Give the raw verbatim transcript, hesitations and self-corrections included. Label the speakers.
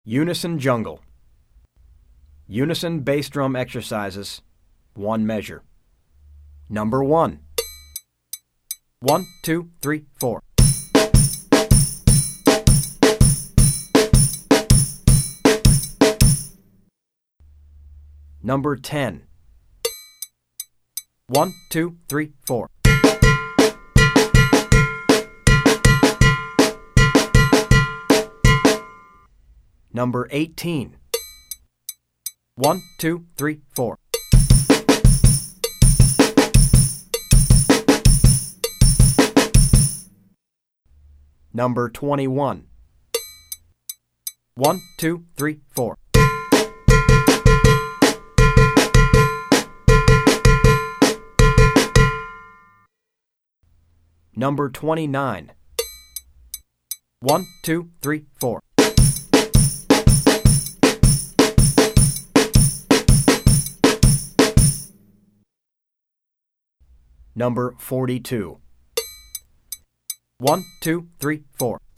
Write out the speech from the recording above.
Speaker 1: Unison jungle. Unison bass drum exercises, one measure. Number one. One, two, three, four. Number ten. One, two, three, four. Number eighteen. One, two, three, four. Number twenty-one. One, two, three, four. Number twenty-nine. One, two, three, four. Number forty-two. One, two, three, four.